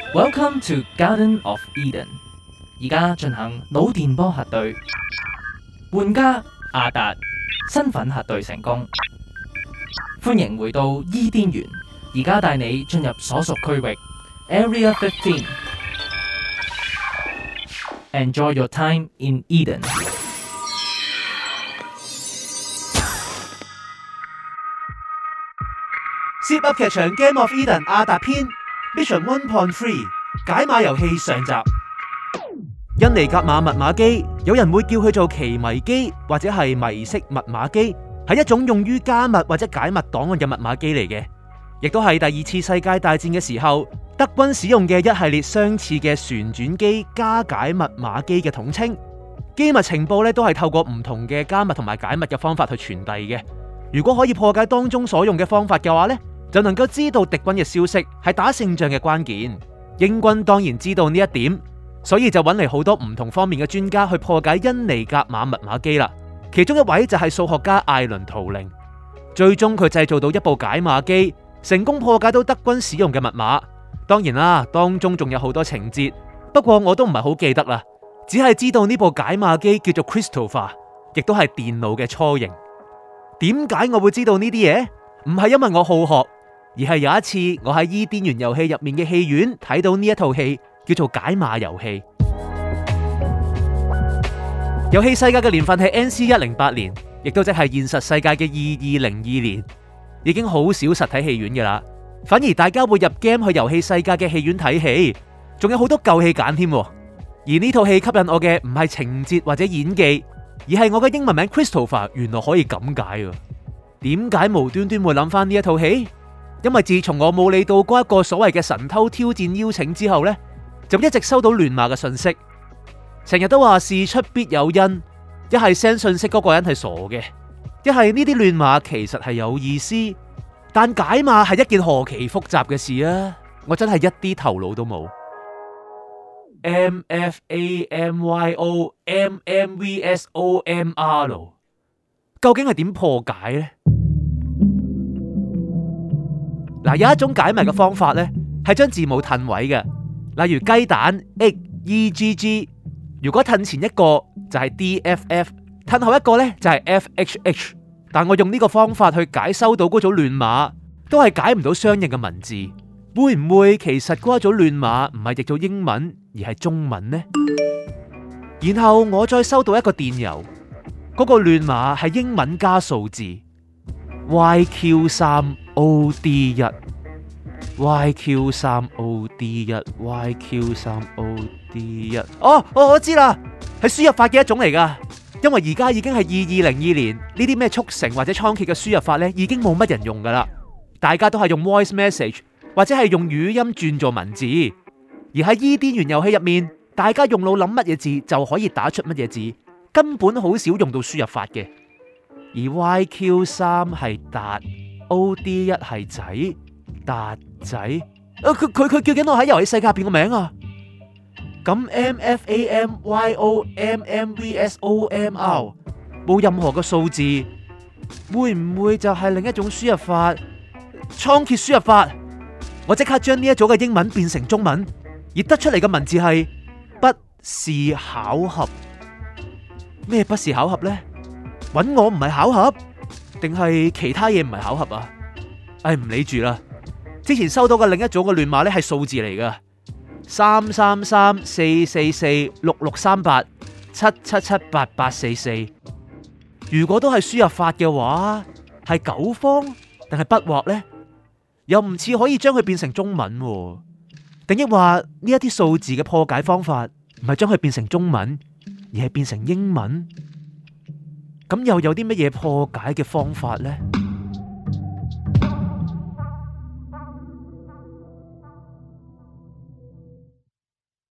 Welcome to Garden of Eden。而家進行腦電波核對，玩家阿達身份核對成功。歡迎回到伊甸園，而家帶你進入所屬區域 Area 15。Enjoy your time in Eden。 Zip 噏劇場 Game of Eden 阿達篇 Mission 1.3 解碼遊戲上集。印尼格瑪密碼機，有人會叫佢做奇迷機或者係迷式密碼機，係一種用於加密或者解密檔案嘅密碼機嚟嘅，亦都係第二次世界大戰嘅時候德軍使用嘅一系列相似嘅旋轉機加解密碼機嘅統稱。機密情報都係透過唔同嘅加密同埋解密嘅方法去傳遞嘅。如果可以破解當中所用嘅方法嘅話呢，就能夠知道敵軍嘅消息係打勝仗嘅關鍵。英軍當然知道呢一點，所以就揾嚟好多唔同方面嘅專家去破解印尼格瑪密碼機啦。其中一位就係數學家艾倫圖靈，最終佢製造到一部解碼機，成功破解到德軍使用嘅密碼。當然啦，當中仲有好多情節，不過我都唔係好記得啦，只係知道呢部解碼機叫做 Christopher， 亦都係電腦嘅雛形。點解我會知道呢啲嘢？唔係因為我好學，而係有一次我喺伊甸園遊戲入面嘅戲院睇到呢一套戲，叫做解碼遊戲。遊戲世界嘅年份係 NC108年，亦都即係現實世界嘅2202年，已經好少實體戲院㗎啦。反而大家會入 game 去遊戲世界嘅戲院睇戲，仲有好多舊戲揀添。而呢套戲吸引我嘅唔係情節或者演技，而係我嘅英文名 Christopher 原來可以咁解。點解無端端會諗翻呢一套戲？因為自從我冇理到嗰一個所謂嘅神偷挑戰邀請之後呢，就一直收到亂碼嘅信息，成日都話事出必有因，一係 send 信息嗰個人係傻嘅，一係呢啲亂碼其實係有意思，但解碼係一件何其複雜嘅事啊！我真係一啲頭腦都冇。MFAMYO MMVSOMR 究竟係點破解呢？嗱，有一種解密嘅方法呢，係將字母褪位嘅，例如雞蛋 EGG， 如果褪前一個就係 DFF， 褪後一個呢就係 FHH。但我用呢個方法去解收到嗰組亂碼，都係解唔到相應嘅文字。會唔會其實嗰一組亂碼唔係譯做英文，而係中文呢？然後我再收到一個電郵，嗰個亂碼係英文加數字 YQ3OD1 YQ3OD1 YQ3OD1。我知啦，係輸入法嘅一種嚟噶。因為而家已經係2202年，呢啲咩速成或者倉頡嘅輸入法呢，已經冇乜人用噶啦。大家都係用 voice message 或者係用語音轉做文字。而喺伊甸園遊戲入面，大家用腦諗乜嘢字就可以打出乜嘢字，根本好少用到輸入法嘅。而 YQ3 係達，OD1 係仔，達仔。佢叫緊我喺遊戲世界入邊個名啊！咁 MFAMYOMMVSOMR 冇任何嘅數字，會唔會就係另一種輸入法？倉頡輸入法。我即刻將呢一組嘅英文變成中文，而得出嚟嘅文字係不是巧合。咩不是巧合呢？搵我唔係巧合，定係其他嘢唔係巧合啊？唔理住啦。之前收到嘅另一組嘅亂碼係數字嚟噶，33344466877778844。如果都係輸入法嘅話，係9方定係筆畫呢？又唔似可以將佢變成中文，定抑話呢一啲數字嘅破解方法唔係將佢變成中文，而係變成英文？咁又有啲乜嘢破解嘅方法呢？